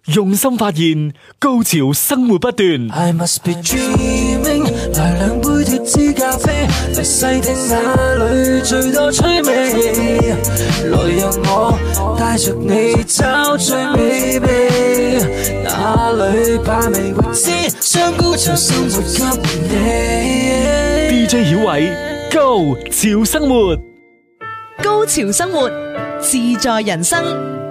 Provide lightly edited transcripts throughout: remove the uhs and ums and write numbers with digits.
用心發現，高潮生活不斷。 I must be dreaming， 來兩杯脫脂咖啡，嚟細聽哪裏最多趣味，來讓我帶着你找最美味，哪裏把味未知，將高潮生活給你。 DJ 曉偉，高潮生活， 高潮生活，自在人生。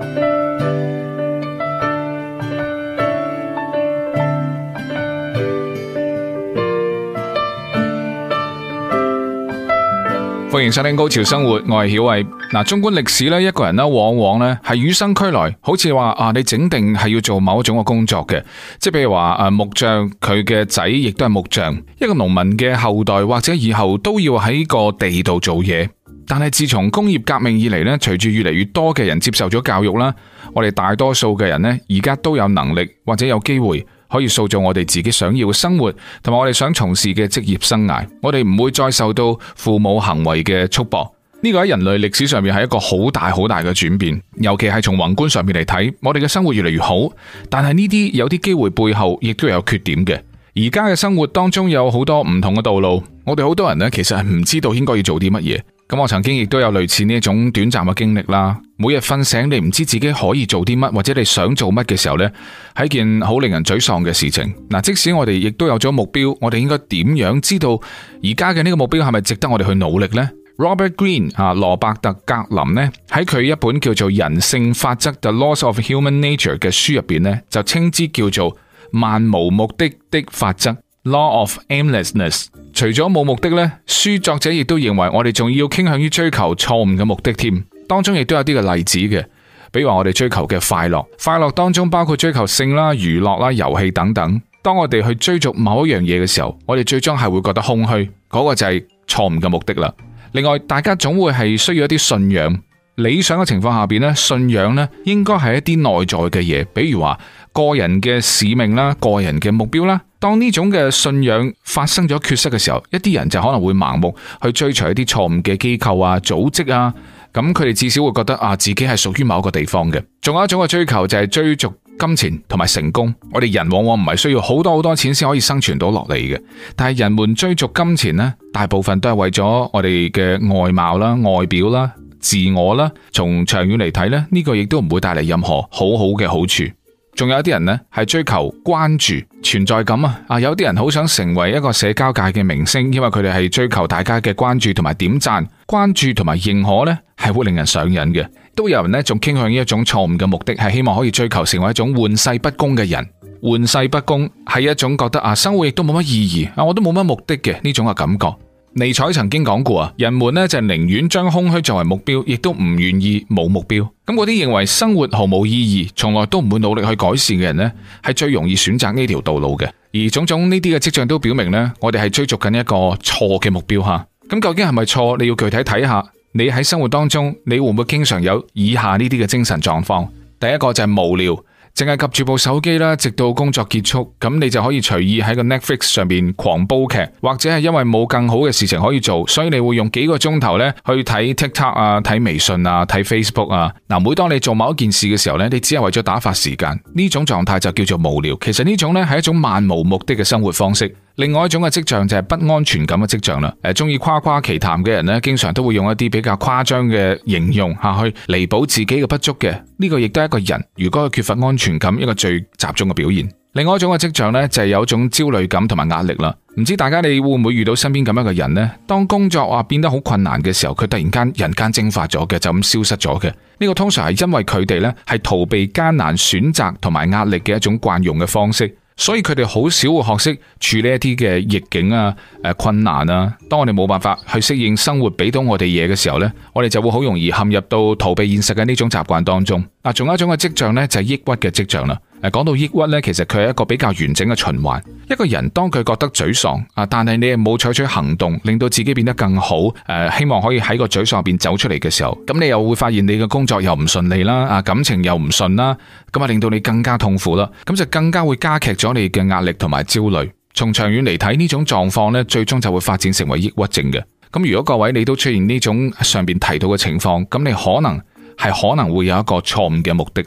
歡迎收聽高潮生活，我係曉偉。嗱，縱觀歷史咧，一個人咧往往咧係與生俱來，好似話你整定係要做某一種嘅工作嘅，即係譬如話木匠佢嘅仔亦都係木匠，一個農民嘅後代或者以後都要喺個地度做嘢。但係自從工業革命以嚟咧，隨住越嚟越多嘅人接受咗教育啦，我哋大多數嘅人咧而家都有能力或者有機會可以塑造我哋自己想要嘅生活，同埋我哋想從事嘅職業生涯。我哋唔會再受到父母行為嘅束縛。呢個喺人類歷史上面係一個好大好大嘅轉變，尤其係從宏觀上面嚟睇，我哋嘅生活越嚟越好。但係呢啲有啲機會背後亦都有缺點嘅。而家嘅生活當中有好多唔同嘅道路，我哋好多人呢其實係唔知道應該要做啲乜嘢。咁我曾經亦都有類似呢一種短暫嘅經歷啦。每日瞓醒你唔知自己可以做啲乜，或者你想做乜嘅時候呢，係一件好令人沮喪嘅事情。嗱，即使我哋亦都有咗目標，我哋應該點樣知道而家嘅呢個目標係咪值得我哋去努力呢？ Robert Greene 羅伯特格林呢喺佢一本叫做《人性法則 The Laws of Human Nature》嘅書入邊呢，就稱之叫做漫無目的的法則 Law of Aimlessness。除咗冇目的呢，書作者亦都認為我哋仲要傾向於追求錯誤嘅目的添。當中亦都有啲嘅例子嘅，比如話我哋追求嘅快樂，快樂當中包括追求性啦、娛樂啦、遊戲等等。當我哋去追逐某一樣嘢嘅時候，我哋最終係會覺得空虛，嗰個就係錯誤嘅目的啦。另外，大家總會係需要一啲信仰。理想嘅情況下邊呢，信仰呢應該係一啲內在嘅嘢，比如話個人嘅使命啦、個人嘅目標啦。當呢種嘅信仰發生咗缺失嘅時候，一啲人就可能會盲目去追隨一啲錯誤嘅機構啊、組織啊，咁佢哋至少會覺得自己係屬於某一個地方嘅。仲有一種嘅追求就係追逐金錢同埋成功。我哋人往往唔係需要好多好多錢先可以生存到落嚟嘅，但係人們追逐金錢呢，大部分都係為咗我哋嘅外貌啦、外表啦、自我啦。從長遠嚟睇呢，呢個亦都唔會帶嚟任何好好嘅好處。仲有一啲人呢係追求關注、存在感啊！有啲人好想成為一個社交界嘅明星，因為佢哋係追求大家嘅關注同埋點讚。關注同埋認可呢係會令人上癮嘅。都有人呢仲傾向於一種錯誤嘅目的，係希望可以追求成為一種玩世不恭嘅人。玩世不恭係一種覺得生活亦都冇乜意義，我都冇乜目的嘅呢種嘅感覺。尼采曾經講過人們呢就寧願將空虛作為目標，亦都唔願意冇目標。咁嗰啲認為生活毫無意義，從來都唔會努力去改善嘅人呢，係最容易選擇呢條道路嘅。而種種呢啲嘅跡象都表明呢，我哋係追逐緊一個錯嘅目標吓。咁究竟係咪錯？你要具體睇下，你喺生活當中，你會唔會經常有以下呢啲嘅精神狀況？第一個就係無聊。淨係及住部手機啦，直到工作結束，咁你就可以隨意喺個 Netflix 上面狂煲劇，或者係因為冇更好嘅事情可以做，所以你會用幾個鐘頭咧去睇 TikTok 啊、睇微信啊、睇 Facebook 啊。嗱，每當你做某一件事嘅時候咧，你只係為咗打發時間，呢種狀態就叫做無聊。其實呢種咧係一種漫無目的嘅生活方式。另外一種嘅跡象就係不安全感嘅跡象啦。中意誇誇其談嘅人呢，經常都會用一啲比較誇張嘅形容去彌補自己嘅不足嘅。呢個亦都係一個人如果佢缺乏安全感一個最集中嘅表現。另外一種嘅跡象呢，就係有一種焦慮感同埋壓力啦。唔知大家你會唔會遇到身邊咁樣嘅人呢？當工作變得好困難嘅時候，佢突然間人間蒸發咗嘅，就咁消失咗嘅。呢個通常係因為佢哋呢係逃避艱難選擇同埋壓力嘅一種慣用嘅方式。所以佢哋好少會學識處理一啲嘅逆境困難啊。當我哋冇辦法去適應生活俾到我哋嘢嘅時候呢，我哋就會好容易陷入到逃避現實嘅呢種習慣當中。仲有一種嘅跡象呢，就係抑鬱嘅跡象啦。講到抑鬱呢，其實佢係一個比較完整嘅循環。一個人當佢覺得沮喪但係你又冇採取行動令到自己變得更好，希望可以喺個沮喪入邊走出嚟嘅時候，咁你又會發現你嘅工作又唔順利啦，感情又唔順啦，咁令到你更加痛苦啦，咁就更加會加劇咗你嘅壓力同埋焦慮。從長遠嚟睇，呢種狀況呢，最終就會發展成為抑鬱症嘅。咁如果各位你都出現呢種上邊提到嘅情況，咁你可能會有一個錯誤嘅目的啦。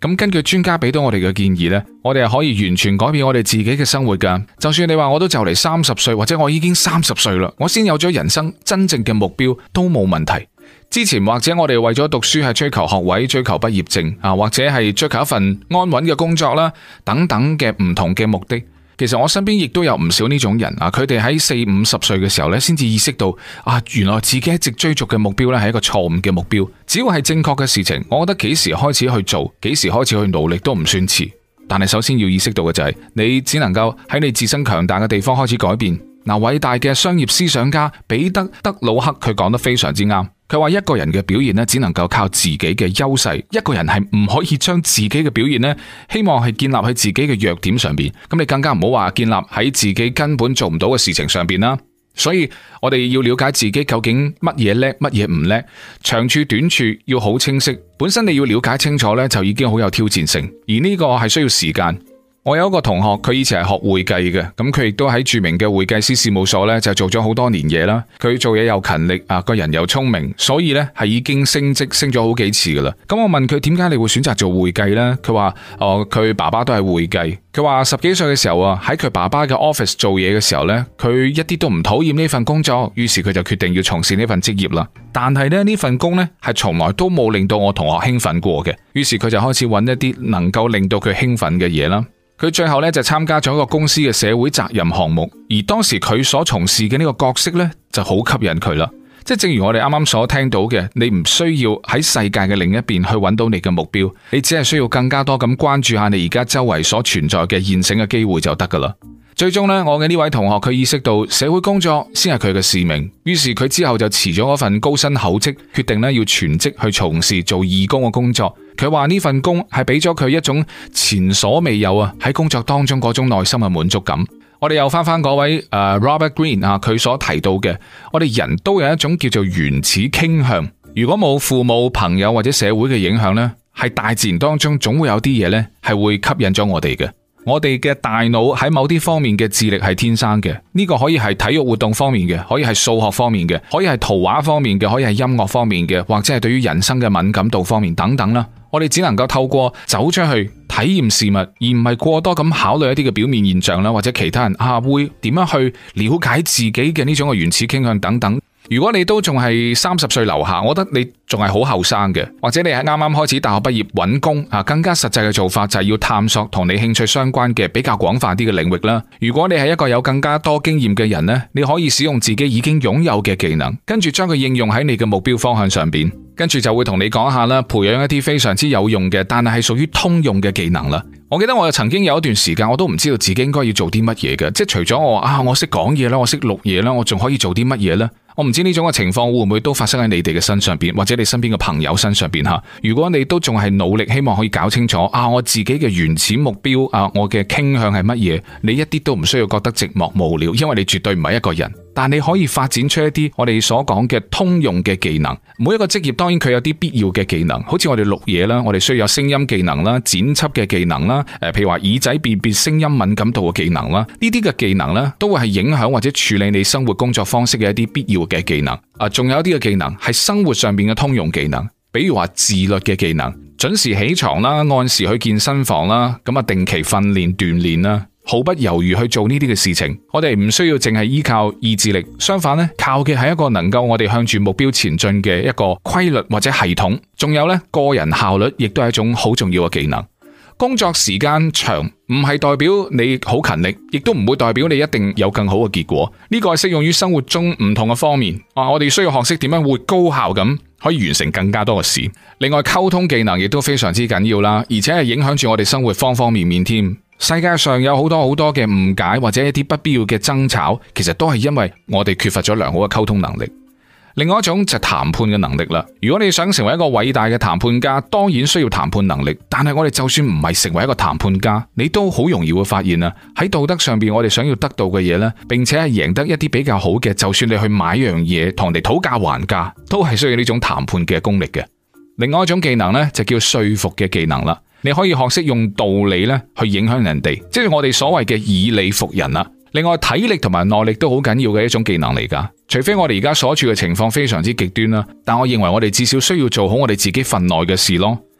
咁根據專家俾到我哋嘅建議呢，我哋係可以完全改變我哋自己嘅生活噶。就算你話我都就嚟30歲，或者我已經30歲啦，我先有咗人生真正嘅目標都冇問題。之前或者我哋為咗讀書係追求學位、追求畢業證啊，或者係追求一份安穩嘅工作啦，等等嘅唔同嘅目的。其實我身邊亦都有唔少呢種人啊，佢哋喺40-50歲嘅時候咧，先至意識到啊，原來自己一直追逐嘅目標咧係一個錯誤嘅目標。只要係正確嘅事情，我覺得幾時開始去做，幾時開始去努力都唔算遲。但係首先要意識到嘅就係，你只能夠喺你自身強大嘅地方開始改變。嗱，偉大嘅商業思想家彼得·德魯克佢講得非常之啱。佢話一個人嘅表現咧，只能夠靠自己嘅優勢，一個人係唔可以將自己嘅表現咧，希望係建立喺自己嘅弱點上邊。咁你更加唔好話建立喺自己根本做唔到嘅事情上邊啦。所以我哋要了解自己究竟乜嘢叻，乜嘢唔叻，長處短處要好清晰。本身你要了解清楚咧，就已經好有挑戰性，而呢個係需要時間。我有一個同學，佢以前係學會計嘅，咁佢亦都喺著名嘅會計師事務所咧就做咗好多年嘢啦。佢做嘢又勤力啊，個人又聰明，所以咧係已經升職升咗好幾次噶啦。咁我問佢點解你會選擇做會計呢？佢話佢爸爸都係會計。佢話10幾歲嘅時候啊，喺佢爸爸嘅 office 做嘢嘅時候咧，佢一啲都唔討厭呢份工作，於是佢就決定要從事呢份職業啦。但係咧呢份工咧係從來都冇令到我同學興奮過嘅，於是佢就開始揾一啲能夠令到佢興奮嘅嘢啦。佢最後咧就參加咗一個公司嘅社會責任項目，而當時佢所從事嘅呢個角色咧就好吸引佢啦。即係正如我哋啱啱所聽到嘅，你唔需要喺世界嘅另一邊去揾到你嘅目標，你只係需要更加多咁關注下你而家周圍所存在嘅現成嘅機會就得噶啦。最終呢，我嘅呢位同學佢意識到社會工作先係佢嘅使命，於是佢之後就辭咗嗰份高薪厚職，決定呢要全職去從事做義工嘅工作。佢話呢份工係俾咗佢一種前所未有啊喺工作當中嗰種內心嘅滿足感。我哋又翻嗰位Robert Greene 啊，佢所提到嘅，我哋人都有一種叫做原始傾向。如果冇父母、朋友或者社會嘅影響呢，係大自然當中總會有啲嘢呢係會吸引咗我哋嘅。我哋嘅大腦喺某啲方面嘅智力係天生嘅，呢個可以係體育活動方面嘅，可以係數學方面嘅，可以係圖畫方面嘅，可以係音樂方面嘅，或者係對於人生嘅敏感度方面等等啦。我哋只能夠透過走出去體驗事物，而唔係過多咁考慮一啲嘅表面現象啦，或者其他人會點樣去了解自己嘅呢種嘅原始傾向等等。如果你都仲係30歲樓下，我覺得你仲係好後生嘅，或者你係啱啱開始大學畢業揾工啊，更加實際嘅做法就係要探索同你興趣相關嘅比較廣泛啲嘅領域啦。如果你係一個有更加多經驗嘅人呢，你可以使用自己已經擁有嘅技能，跟住將佢應用喺你嘅目標方向上邊，跟住就會同你講下啦，培養一啲非常之有用嘅，但係屬於通用嘅技能啦。我記得我曾經有一段時間，我都唔知道自己應該要做啲乜嘢嘅，即係除咗我識講嘢啦，我識錄嘢啦，我仲可以做啲乜嘢呢？我唔知呢種嘅情況會唔會都發生喺你哋嘅身上邊，或者你身邊嘅朋友身上邊吓。如果你都仲係努力，希望可以搞清楚我自己嘅原始目標我嘅傾向係乜嘢，你一啲都唔需要覺得寂寞無聊，因為你絕對唔係一個人。但你可以發展出一啲我哋所講嘅通用嘅技能。每一個職業當然佢有啲必要嘅技能，好似我哋錄嘢啦，我哋需要有聲音技能啦、剪輯嘅技能啦，譬如話耳仔辨別聲音敏感度嘅技能啦，呢啲嘅技能呢都會係影響或者處理你生活工作方式嘅一啲必要嘅技能。仲有一啲嘅技能係生活上邊嘅通用技能，比如話自律嘅技能，準時起床啦，按時去健身房啦，咁定期訓練鍛煉啦。毫不猶豫去做呢啲嘅事情，我哋唔需要淨係依靠意志力，相反呢，靠嘅係一個能夠我哋向住目標前進嘅一個規律或者系統。仲有呢，個人效率亦都係一種好重要嘅技能。工作時間長唔係代表你好勤力，亦都唔會代表你一定有更好嘅結果。呢個係適用於生活中唔同嘅方面。我哋需要學識點樣會高效咁可以完成更加多嘅事。另外，溝通技能亦都非常之緊要啦，而且係影響住我哋生活方方面面添。世界上有好多嘅誤解或者一啲不必要嘅爭吵，其實都係因為我哋缺乏咗良好嘅溝通能力。另外一種就係談判嘅能力啦。如果你想成為一個偉大嘅談判家，當然需要談判能力。但係我哋就算唔係成為一個談判家，你都好容易會發現喺道德上邊我哋想要得到嘅嘢呢，並且係贏得一啲比較好嘅，就算你去買樣嘢同人哋討價還價，都係需要呢種談判嘅功力嘅。另外一種技能呢，就叫說服嘅技能啦。你可以學識用道理咧去影響人哋，即係我哋所謂嘅以理服人啦。另外，體力同埋耐力都好緊要嘅一種技能嚟噶。除非我哋而家所處嘅情況非常之極端啦，但我認為我哋至少需要做好我哋自己份內嘅事咯。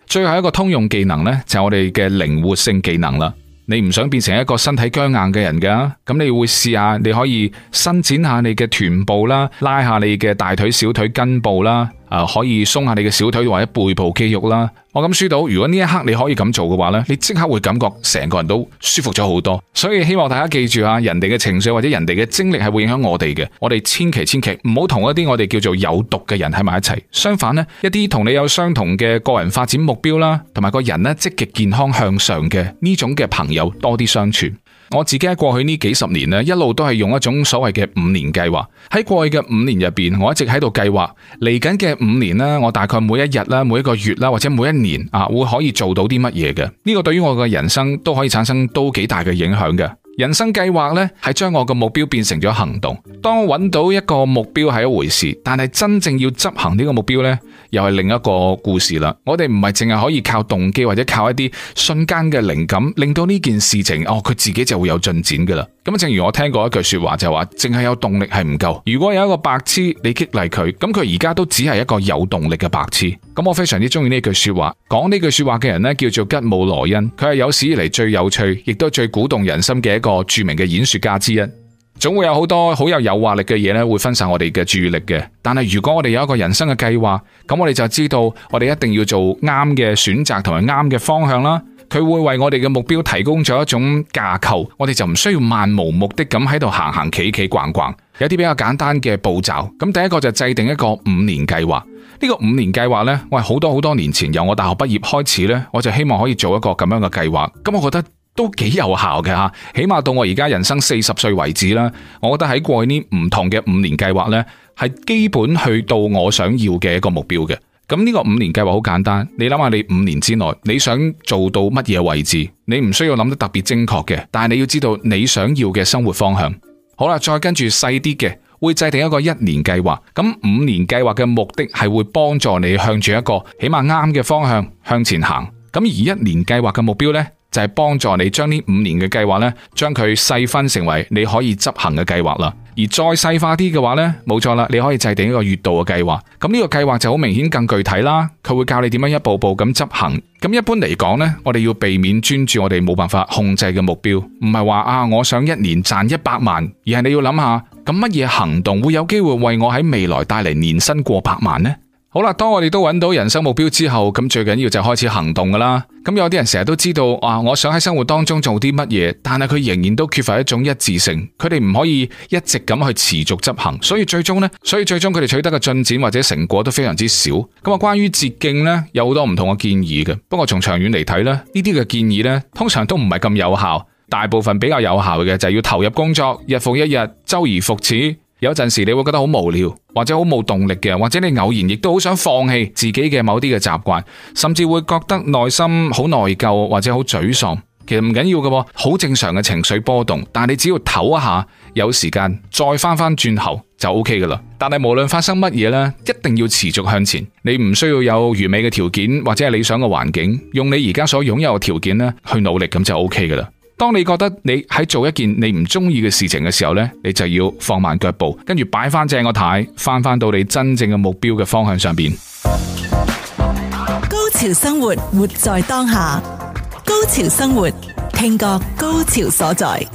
最後一個通用技能呢，就係我哋嘅靈活性技能啦。你唔想變成一個身體僵硬嘅人噶，咁你會試下，你可以伸展下你嘅臀部啦，拉下你嘅大腿、小腿根部啦，可以鬆下你嘅小腿或者背部肌肉啦。我咁輸到，如果呢一刻你可以咁做嘅話呢，你即刻會感覺成個人都舒服咗好多。所以希望大家記住啊，人哋嘅情緒或者人哋嘅精力係會影響我哋嘅，我哋千祈唔好同一啲我哋叫做有毒嘅人喺埋一齊。相反呢，一啲同你有相同嘅個人發展目標啦，同埋個人呢積極健康向上嘅呢種嘅朋友多啲相處。我自己喺過去呢幾十年呢，一路都係用一種所謂嘅5年計劃。喺過去嘅5年入邊，我一直喺度計劃嚟緊嘅5年呢，我大概每一日啦、每一個月啦，或者每一年會可以做到啲乜嘢嘅。呢個對於我嘅人生都可以產生都幾大嘅影響嘅。人生計劃呢，係將我嘅目標變成咗行動。當我揾到一個目標係一回事，但係真正要執行呢個目標呢，又係另一個故事啦。我哋唔係淨係可以靠動機或者靠一啲瞬間嘅靈感，令到呢件事情佢自己就會有進展噶啦。咁正如我聽過一句說話就話，淨係有動力係唔夠。如果有一個白痴你激勵佢，咁佢而家都只係一個有動力嘅白痴。咁我非常之中意呢句說話。講呢句說話嘅人呢，叫做吉姆羅恩，佢係有史以嚟最有趣，亦都最鼓動人心嘅一個著名嘅演說家之一。總會有好多好有誘惑力嘅嘢咧，會分散我哋嘅注意力嘅。但係如果我哋有一個人生嘅計劃，咁我哋就知道我哋一定要做啱嘅選擇同埋啱嘅方向啦。佢會為我哋嘅目標提供咗一種架構，我哋就唔需要漫無目的咁喺度行行企企逛逛。有啲比較簡單嘅步驟。咁第一個就制定一個5年計劃。呢個5年計劃呢，我係好多年前由我大學畢業開始呢，我就希望可以做一個咁樣嘅計劃。咁我覺得都幾有效嘅吓，起碼到我而家人生40歲為止啦。我覺得喺過去呢唔同嘅5年計劃呢，係基本去到我想要嘅一個目標嘅。咁呢個5年計劃好簡單，你諗下你5年之內你想做到乜嘢位置，你唔需要諗得特別精確嘅，但係你要知道你想要嘅生活方向。好啦，再跟住細啲嘅，會制定一個1年計劃。咁5年計劃嘅目的係會幫助你向住一個起碼啱嘅方向向前行。咁而1年計劃嘅目標呢，就係幫助你將呢5年嘅計劃呢，將佢細分成為你可以執行嘅計劃啦。而再細化啲嘅話呢，冇錯啦，你可以制定一個月度嘅計劃。咁呢個計劃就好明顯更具體啦，佢會教你點樣一步步咁執行。咁一般嚟講呢，我哋要避免專注我哋冇辦法控制嘅目標，唔係話我想1年賺100萬，而係你要諗下，咁乜嘢行動會有機會為我喺未來帶嚟年薪過百萬呢？好啦，當我哋都揾到人生目標之後，咁最緊要就開始行動噶啦。咁有啲人成日都知道我想喺生活當中做啲乜嘢，但係佢仍然都缺乏一種一致性，佢哋唔可以一直咁去持續執行，所以最終佢哋取得嘅進展或者成果都非常之少。咁關於捷徑呢，有好多唔同嘅建議嘅，不過從長遠嚟睇咧，呢啲嘅建議呢，通常都唔係咁有效。大部分比較有效嘅就係要投入工作，日復一日，周而復始。有陣時你會覺得好無聊，或者好冇動力嘅，或者你偶然亦都好想放棄自己嘅某啲嘅習慣，甚至會覺得內心好內疚或者好沮喪。其實唔緊要嘅，好正常嘅情緒波動，但係你只要唞一下，有時間再翻轉頭就 OK 噶啦。但係無論發生乜嘢呢，一定要持續向前。你唔需要有完美嘅條件或者係理想嘅環境，用你而家所擁有嘅條件呢去努力，咁就 OK 噶啦。當你覺得你喺做一件你唔中意嘅事情嘅時候呢，你就要放慢腳步，跟住擺翻正個軚，翻到你真正嘅目標嘅方向上邊。 高潮生活，活在當下。高潮生活，聽覺高潮所在。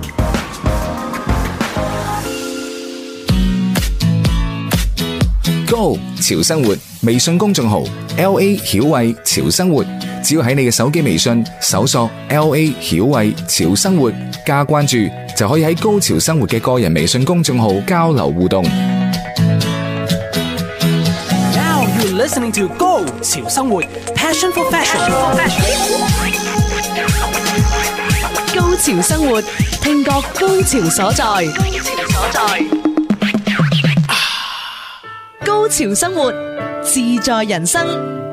Go 潮生活微信公眾號 LA 曉慧潮生活，只要喺你嘅手機微信搜索 LA 曉慧潮生活加關注，就可以喺高潮生活嘅個人微信公眾號交流互動。 Now you're listening to Go 潮生活 Passion for Fashion。 高潮生活，聽覺高潮所在。高潮生活，自在人生。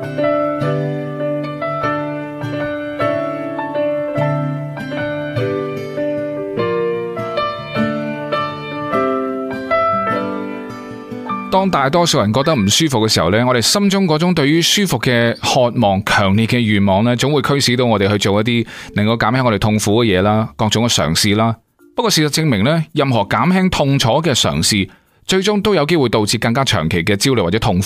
當大多數人覺得唔舒服嘅時候呢，我哋心中嗰種對於舒服嘅渴望、強烈嘅願望呢，總會驅使到我哋去做一啲能夠減輕我哋痛苦嘅嘢啦，各種嘅嘗試啦。不過事實證明呢，任何減輕痛楚嘅嘗試，最終都有機會導致更加長期嘅焦慮或者痛苦。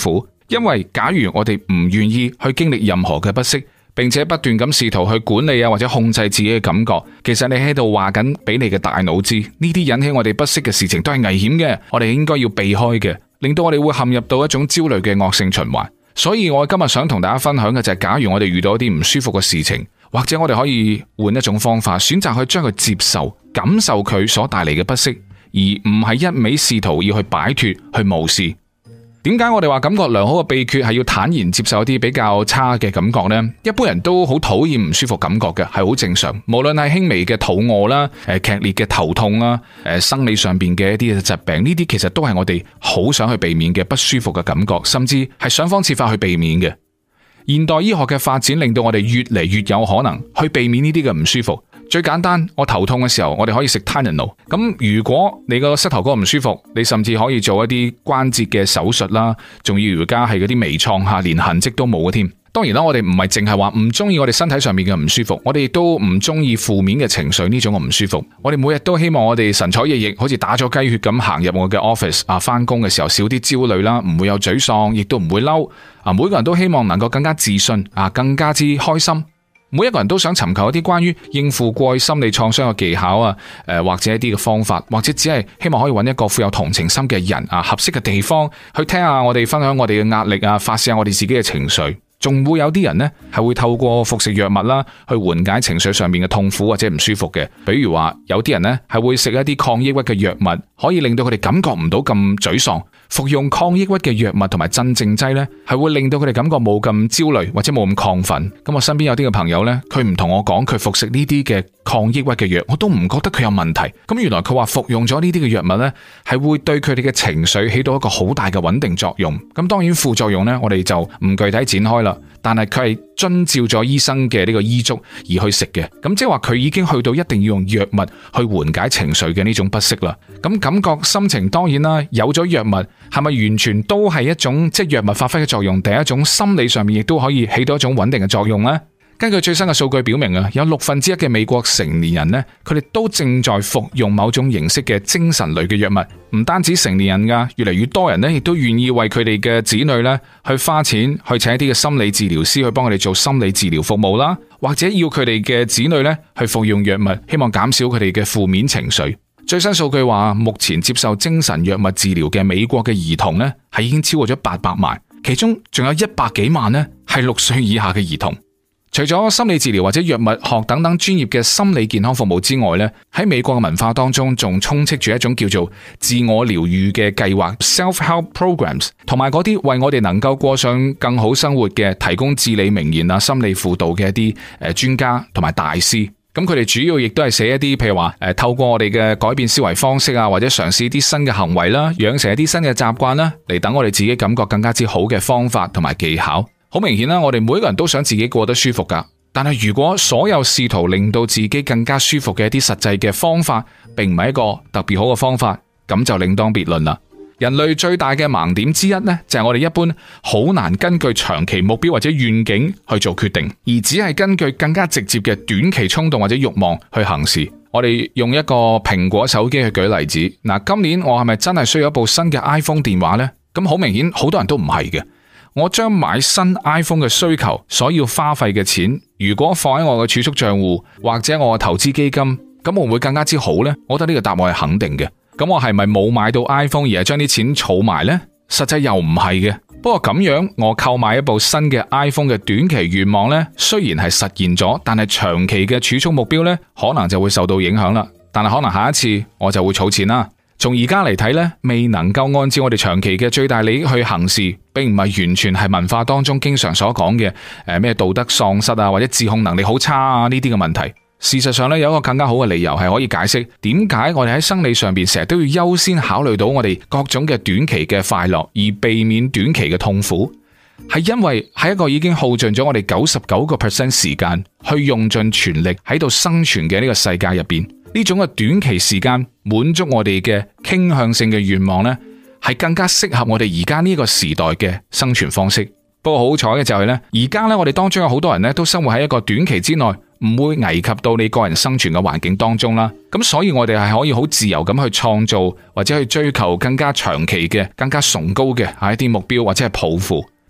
因為假如我哋唔願意去經歷任何嘅不適，並且不斷咁試圖去管理或者控制自己嘅感覺，其實你喺度話緊俾你嘅大腦知，呢啲引起我哋不適嘅事情都係危險嘅，我哋應該要避開嘅，令到我哋會陷入到一種焦慮嘅惡性循環。所以我今日想同大家分享嘅就係，假如我哋遇到一啲唔舒服嘅事情，或者我哋可以換一種方法，選擇去將佢接受、感受佢所帶嚟嘅不適，而唔係一味試圖要去擺脫、去無視。點解我哋話感覺良好嘅秘訣係要坦然接受一啲比較差嘅感覺呢？一般人都好討厭唔舒服感覺嘅，係好正常。無論係輕微嘅肚餓啦、劇烈嘅頭痛啦、生理上邊嘅一啲疾病，呢啲其實都係我哋好想去避免嘅不舒服嘅感覺，甚至係想方設法去避免嘅。現代醫學嘅發展令到我哋越嚟越有可能去避免呢啲嘅唔舒服。最簡單，我頭痛嘅時候，我哋可以食 Tylenol。咁如果你個膝頭哥唔舒服，你甚至可以做一啲關節嘅手術啦，仲要而家係嗰啲微創下，連痕跡都冇嘅添。當然啦，我哋唔係淨係話唔中意我哋身體上面嘅唔舒服，我哋亦都唔中意負面嘅情緒呢種嘅唔舒服。我哋每日都希望我哋神采奕奕，好似打咗雞血咁行入我嘅 office 翻工嘅時候少啲焦慮啦，唔會有沮喪，亦都唔會嬲。每個人都希望能夠更加自信更加之開心。每一個人都想尋求一啲關於應付過去心理創傷嘅技巧或者一啲嘅方法，或者只係希望可以揾一個富有同情心嘅人合適嘅地方去聽下我哋分享我哋嘅壓力發泄下我哋自己嘅情緒。仲會有啲人呢係會透過服食藥物啦，去緩解情緒上面嘅痛苦或者唔舒服嘅。比如話有啲人呢係會食一啲抗抑鬱嘅藥物，可以令到佢哋感覺唔到咁沮喪。服用抗抑鬱嘅藥物同埋鎮靜劑呢，係會令到佢哋感覺冇咁焦慮或者冇咁亢奮。咁我身邊有啲嘅朋友呢，佢唔同我講佢服食呢啲嘅抗抑鬱嘅藥，我都唔覺得佢有問題。咁原來佢話服用咗呢啲嘅藥物呢，係會對佢哋嘅情緒起到一個好大嘅穩定作用。咁當然副作用呢，我哋就唔具體展開啦。但係佢係遵照咗醫生嘅呢個醫囑而去食嘅，咁即係話佢已經去到一定要用藥物去緩解情緒嘅呢種不適啦。咁感覺心情當然啦，有咗藥物係咪完全都係一種即係藥物發揮嘅作用？第一種心理上面亦都可以起到一種穩定嘅作用呢？根據最新嘅數據表明有1/6嘅美國成年人呢，佢哋都正在服用某種形式嘅精神類嘅藥物。唔單止成年人噶，越嚟越多人呢亦都願意為佢哋嘅子女呢去花錢去請一啲嘅心理治療師去幫佢哋做心理治療服務啦，或者要佢哋嘅子女呢去服用藥物，希望減少佢哋嘅負面情緒。最新數據話，目前接受精神藥物治療嘅美國嘅兒童呢係已經超過咗800萬，其中仲有100幾萬呢係6歲以下嘅兒童。除咗心理治療或者藥物學等等專業嘅心理健康服務之外呢，喺美國嘅文化當中仲充斥住一種叫做自我療愈嘅計劃 self-help programs， 同埋嗰啲為我哋能夠過上更好生活嘅提供至理名言心理輔導嘅一啲專家同埋大師。咁佢哋主要亦都係寫一啲譬如話透過我哋嘅改變思維方式或者嘗試一啲新嘅行為啦，養成一啲新嘅習慣啦，嚟等我哋自己感覺更加之好嘅方法同埋技巧。好明顯啦，我哋每一個人都想自己過得舒服噶，但係如果所有試圖令到自己更加舒服嘅一啲實際嘅方法，並唔係一個特別好嘅方法，咁就另當別論啦。人類最大嘅盲點之一呢，就係我哋一般好難根據長期目標或者願景去做決定，而只係根據更加直接嘅短期衝動或者慾望去行事。我哋用一個蘋果手機去舉例子，嗱，今年我係咪真係需要一部新嘅 iPhone 電話呢？咁好明顯，好多人都唔係嘅。我將買新 iPhone 嘅需求所要花費嘅錢，如果放喺我嘅儲蓄賬戶或者我嘅投資基金，咁會唔會更加之好呢？我覺得呢個答案係肯定嘅。咁我係咪冇買到 iPhone 而係將啲錢儲埋呢？實際又唔係嘅。不過咁樣，我購買一部新嘅 iPhone 嘅短期願望呢，雖然係實現咗，但係長期嘅儲蓄目標呢，可能就會受到影響啦。但係可能下一次我就會儲錢啦。從而家嚟睇呢，未能夠按照我哋長期嘅最大利益去行事，並唔係完全係文化當中經常所講嘅咩道德喪失或者自控能力好差呢啲嘅問題。事實上呢，有一個更加好嘅理由係可以解釋點解我哋喺生理上邊成日都要優先考慮到我哋各種嘅短期嘅快樂，而避免短期嘅痛苦。係因為喺一個已經耗盡咗我哋99% 時間去用盡全力喺度生存嘅呢個世界入邊，呢種嘅短期時間滿足我哋嘅傾向性嘅願望呢，係更加適合我哋而家呢個時代嘅生存方式。不過好彩嘅就係呢，而家呢，我哋當中有好多人呢都生活喺一個短期之內唔會危及到你個人生存嘅環境當中啦。咁所以我哋係可以好自由咁去創造或者去追求更加長期嘅、更加崇高嘅一啲目標或者係抱負。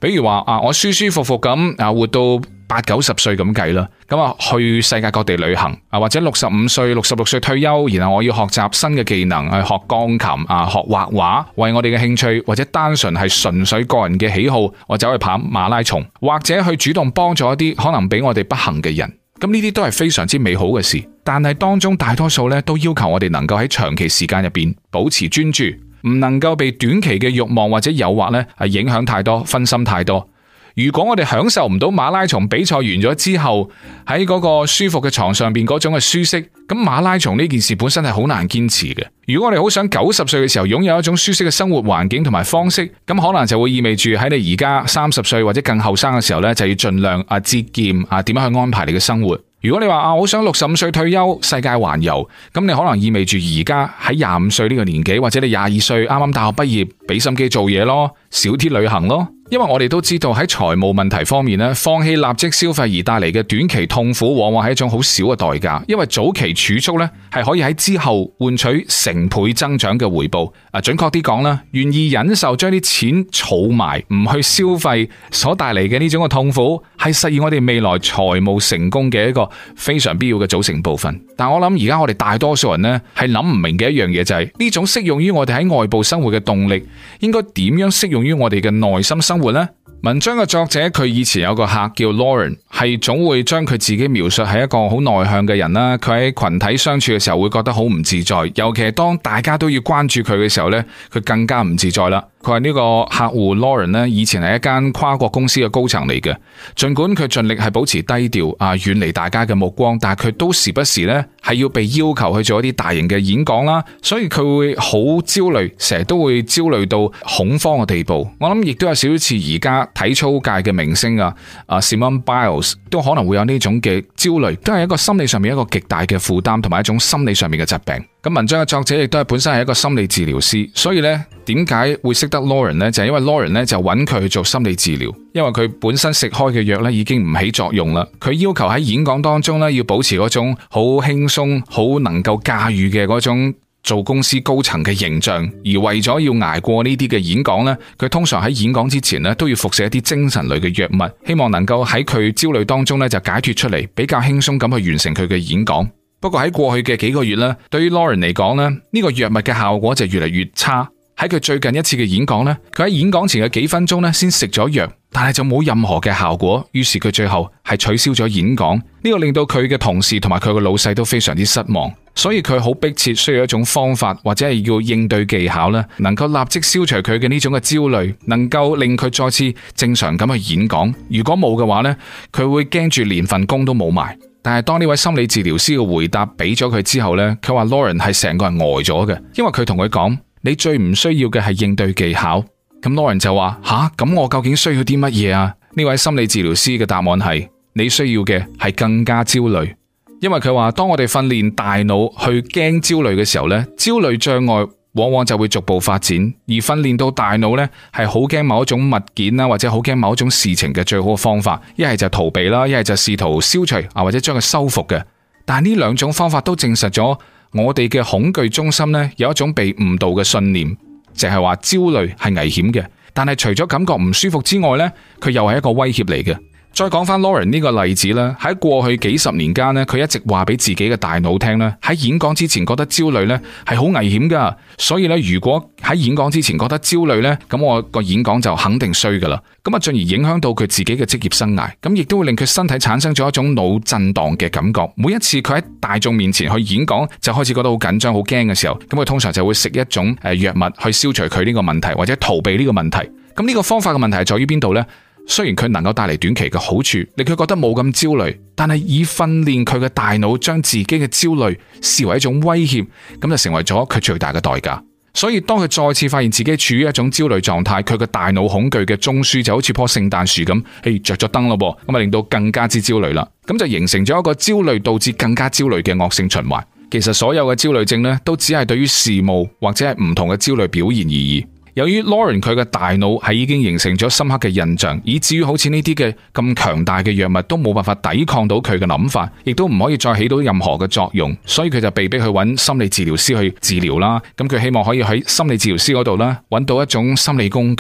比如話我舒舒服服咁活到80-90歲咁計啦，咁去世界各地旅行或者65歲、66歲退休，然後我要學習新嘅技能，去學鋼琴學畫畫，為我哋嘅興趣或者單純係純粹個人嘅喜好，我走去跑馬拉松，或者去主動幫助一啲可能比我哋不幸嘅人。咁呢啲都係非常之美好嘅事，但係當中大多數都要求我哋能夠喺長期時間入邊保持專注，唔能夠被短期嘅慾望或者誘惑影響太多，分心太多。如果我哋享受唔到馬拉松比賽完咗之後喺嗰個舒服嘅床上邊嗰種嘅舒適，咁馬拉松呢件事本身係好難堅持嘅。如果我哋好想90歲嘅時候擁有一種舒適嘅生活環境同埋方式，咁可能就會意味住喺你而家30歲或者更後生嘅時候就要盡量節儉點樣去安排你嘅生活。如果你話好想65歲退休世界環遊，咁你可能意味住而家喺25歲呢個年紀，或者你22歲啱啱大學畢業，俾心機做嘢咯，少啲旅行咯。因為我哋都知道喺財務問題方面放棄立即消費而帶嚟嘅短期痛苦，往往係一種好少嘅代價。因為早期儲蓄係可以喺之後換取成倍增長嘅回報。準確啲講啦，願意忍受將啲錢儲埋唔去消費所帶嚟嘅呢種嘅痛苦，係實現我哋未來財務成功嘅一個非常必要嘅組成部分。但我諗而家我哋大多數人係諗唔明嘅一樣嘢，就係呢種適用於我哋喺外部生活嘅動力，應該點樣適用於我哋嘅內心生活呢？文章嘅作者佢以前有個客叫 Lauren， 係總會將佢自己描述係一個好內向嘅人啦。佢喺群體相處嘅時候會覺得好唔自在，尤其係當大家都要關注佢嘅時候佢更加唔自在啦。佢話呢個客戶 Lauren 以前係一間跨國公司嘅高層嚟嘅，盡管佢盡力係保持低調遠離大家嘅目光，但係佢都時不時係要被要求去做一啲大型嘅演講啦，所以佢會好焦慮，成日都會焦慮到恐慌嘅地步。我諗亦都有少少似而家體操界嘅明星Simone Biles 都可能會有呢種嘅焦慮，都係一個心理上面一個極大嘅負擔，同埋一種心理上面嘅疾病。咁文章嘅作者亦都係本身係一個心理治療師，所以點解會識得 Lauren 就係因為 Lauren 就揾佢去做心理治療，因為佢本身食開嘅藥已經唔起作用啦。佢要求喺演講當中要保持嗰種好輕鬆、好能夠駕馭嘅嗰種做公司高層嘅形象，而為咗要捱過呢啲嘅演講佢通常喺演講之前都要服食一啲精神類嘅藥物，希望能夠喺佢焦慮當中就解脫出嚟，比較輕鬆咁去完成佢嘅演講。不過喺過去嘅幾個月對於 Lauren 嚟講呢個藥物嘅效果就越嚟越差。喺佢最近一次嘅演講佢喺演講前嘅幾分鐘先食咗藥，但係就冇任何嘅效果，於是佢最後係取消咗演講。呢個令到佢嘅同事同埋佢嘅老細都非常之失望，所以佢好迫切需要一種方法或者係要應對技巧能夠立即消除佢嘅呢種嘅焦慮，能夠令佢再次正常咁去演講。如果冇嘅話佢會驚住連份工都冇埋。但係當呢位心理治療師嘅回答俾咗佢之後佢話 Lauren 係成個人呆咗嘅，因為佢同佢講，你最唔需要嘅係應對技巧。咁 Lauren 就話咁我究竟需要啲乜嘢啊？呢位心理治療師嘅答案係，你需要嘅係更加焦慮。因為佢話當我哋訓練大腦去驚焦慮嘅時候焦慮障礙往往就會逐步發展，而訓練到大腦係好驚某一種物件或者好驚某一種事情嘅最好嘅方法，一係就逃避啦，一係就試圖消除或者將佢修復嘅。但係呢兩種方法都證實咗我哋嘅恐懼中心有一種被誤導嘅信念，就係話焦慮係危險嘅，但係除咗感覺唔舒服之外佢又係一個威脅嚟嘅。再講翻 Lauren 呢個例子啦，喺過去幾十年間佢一直話俾自己嘅大腦聽喺演講之前覺得焦慮係好危險噶，所以如果喺演講之前覺得焦慮咁我個演講就肯定衰噶啦，咁啊進而影響到佢自己嘅職業生涯，咁亦都會令佢身體產生咗一種腦震盪嘅感覺。每一次佢喺大眾面前去演講就開始覺得好緊張好驚嘅時候，咁佢通常就會食一種藥物去消除佢呢個問題或者逃避呢個問題。咁呢個方法嘅問題係在於邊度呢？雖然佢能夠帶嚟短期嘅好處，令佢覺得冇咁焦慮，但係以訓練佢嘅大腦將自己嘅焦慮視為一種威脅，咁就成為咗佢最大嘅代價。所以當佢再次發現自己處於一種焦慮狀態，佢嘅大腦恐懼嘅中樞就好似棵聖誕樹咁，着咗燈咯，咁啊令到更加之焦慮啦，咁就形成咗一個焦慮導致更加焦慮嘅惡性循環。其實所有嘅焦慮症都只係對於事務或者係唔同嘅焦慮表現而已。由於 Lauren 佢嘅大腦係已經形成咗深刻嘅印象，以至於好似呢啲嘅咁強大嘅藥物都冇辦法抵抗到佢嘅諗法，亦都唔可以再起到任何嘅作用，所以佢就被逼去揾心理治療師去治療啦。咁佢希望可以喺心理治療師嗰度揾到一種心理工具，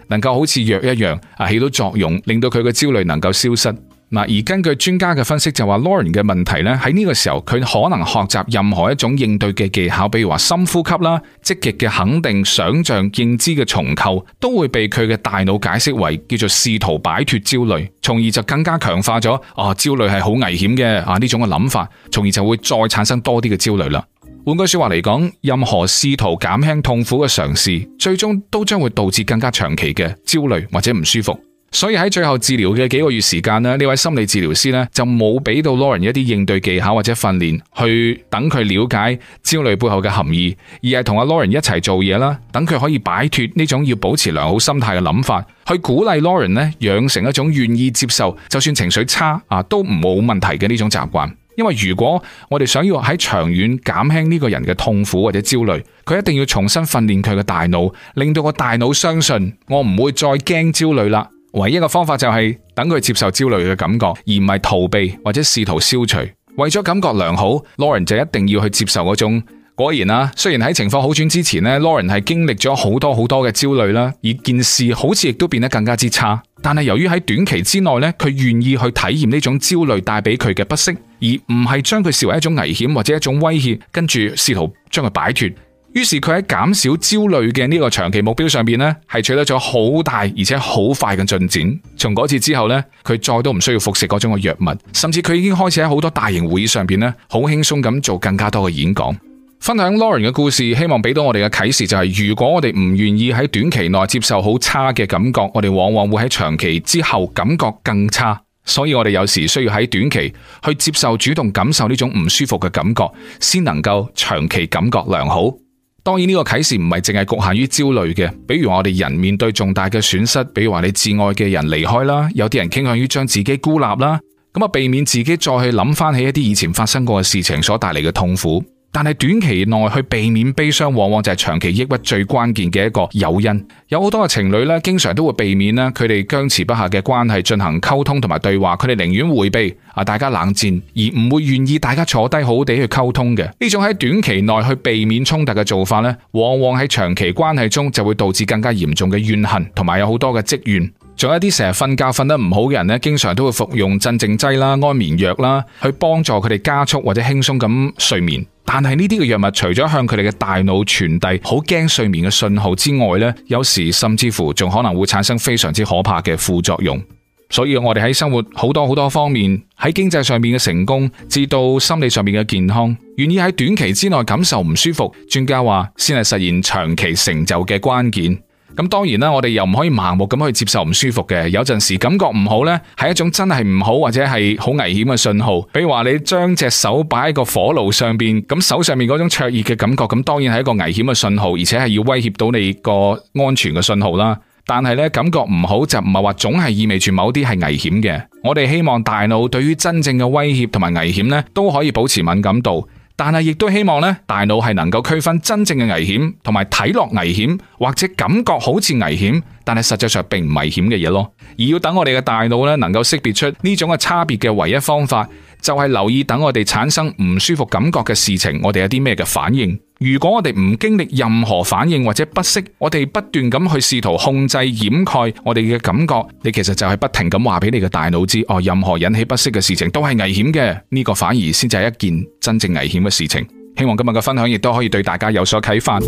能夠好似藥一樣起到作用，令到佢嘅焦慮能夠消失。而根據專家嘅分析就話 Lauren 嘅問題呢，喺呢個時候佢可能學習任何一種應對嘅技巧，比如話深呼吸啦、積極嘅肯定、想像、認知嘅重構，都會被佢嘅大腦解釋為叫做試圖擺脫焦慮，從而就更加強化咗焦慮係好危險嘅呢種嘅諗法，從而就會再產生多啲嘅焦慮啦。換句說話嚟講，任何試圖減輕痛苦嘅嘗試，最終都將會導致更加長期嘅焦慮或者唔舒服。所以喺最後治療嘅幾個月時間呢位心理治療師呢就冇俾到 Lauren 一啲應對技巧或者訓練，去等佢了解焦慮背後嘅含義，而係同阿 Lauren 一齊做嘢啦，等佢可以擺脫呢種要保持良好心態嘅諗法，去鼓勵 Lauren 呢養成一種願意接受就算情緒差都唔冇問題嘅呢種習慣。因為如果我哋想要喺長遠減輕呢個人嘅痛苦或者焦慮，佢一定要重新訓練佢嘅大腦，令到個大腦相信我唔會再驚焦慮啦。唯一嘅方法就係等佢接受焦慮嘅感覺，而唔係逃避或者試圖消除。為咗感覺良好， Lauren 就一定要去接受嗰種。果然啦，雖然喺情況好轉之前呢 Lauren 係經歷咗好多嘅焦慮啦，而件事好似亦都變得更加之差。但係由於喺短期之內呢，佢願意去體驗呢種焦慮帶俾佢嘅不適，而唔係將佢視為一種危險或者一種威脅，跟住試圖將佢擺脫。於是佢喺減少焦慮嘅呢個長期目標上邊呢，係取得咗好大而且好快嘅進展。從嗰次之後呢，佢再都唔需要服食嗰種嘅藥物，甚至佢已經開始喺好多大型會議上邊呢，好輕鬆咁做更加多嘅演講。分享 Lauren 嘅故事，希望俾到我哋嘅啟示就係，如果我哋唔願意喺短期內接受好差嘅感覺，我哋往往會喺長期之後感覺更差。所以我哋有時需要喺短期去接受主動感受呢種唔舒服嘅感覺，先能夠長期感覺良好。當然呢個啟示唔係淨係局限於焦慮嘅，比如我哋人面對重大嘅損失，比如話你至愛嘅人離開啦，有啲人傾向於將自己孤立啦，咁避免自己再去諗翻起一啲以前發生過嘅事情所帶嚟嘅痛苦。但係短期內去避免悲傷，往往就係長期抑鬱最關鍵嘅一個誘因。有好多嘅情侶咧，經常都會避免咧佢哋僵持不下嘅關係進行溝通同埋對話，佢哋寧願回避大家冷戰，而唔會願意大家坐低好好地去溝通嘅。呢種喺短期內去避免衝突嘅做法咧，往往喺長期關係中就會導致更加嚴重嘅怨恨，同埋有好多嘅積怨。仲有一啲成日瞓覺瞓得唔好嘅人咧，經常都會服用鎮靜劑啦、安眠藥啦，去幫助佢哋加速或者輕鬆咁睡眠。但係呢啲嘅藥物除咗向佢哋嘅大腦傳遞好驚睡眠嘅信號之外咧，有時甚至乎仲可能會產生非常之可怕嘅副作用。所以我哋喺生活好多方面，喺經濟上面嘅成功，至到心理上面嘅健康，願意喺短期之內感受唔舒服，專家話先係實現長期成就嘅關鍵。咁當然啦，我哋又唔可以盲目咁去接受唔舒服嘅。有陣時感覺唔好呢，係一種真係唔好或者係好危險嘅信號。比如話你將隻手擺喺個火爐上邊，咁手上面嗰種灼熱嘅感覺，咁當然係一個危險嘅信號，而且係要威脅到你個安全嘅信號啦。但係呢，感覺唔好就唔係話總係意味住某啲係危險嘅。我哋希望大腦對於真正嘅威脅同埋危險呢，都可以保持敏感度。但係亦都希望咧，大腦係能夠區分真正嘅危險同埋睇落危險或者感覺好似危險，但係實際上並唔危險嘅嘢咯。而要等我哋嘅大腦咧能夠識別出呢種嘅差別嘅唯一方法，就係留意等我哋產生唔舒服感覺嘅事情，我哋有啲咩嘅反應。如果我哋唔經歷任何反應或者不適，我哋不斷咁去試圖控制掩蓋我哋嘅感覺，你其實就係不停咁話俾你嘅大腦知，任何引起不適嘅事情都係危險嘅，呢個反而先至係一件真正危險嘅事情。希望今日嘅分享亦都可以對大家有所啟發。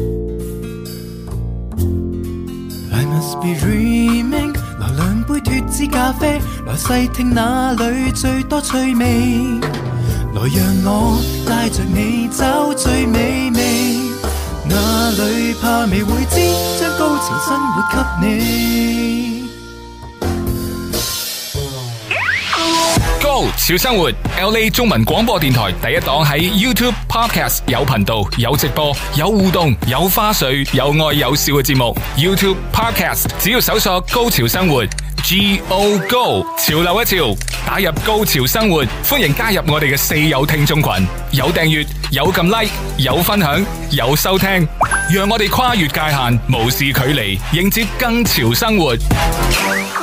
I must be dreaming， 來兩杯脫脂咖啡，來細聽哪裏最多趣味，來讓我帶着你找最美味，哪裏怕未會知，將高潮生活給你。 Go 潮生活 LA 中文廣播電台第一檔，喺 YouTube Podcast 有頻道、有直播、有互動、有花絮、有愛有笑嘅節目。YouTube Podcast 只要搜索高潮生活 Go Go 潮流一潮，打入高潮生活，歡迎加入我哋嘅四友聽眾群，有訂閱、有撳 like、有分享、有收聽，讓我哋跨越界限，無視距離，迎接更潮生活。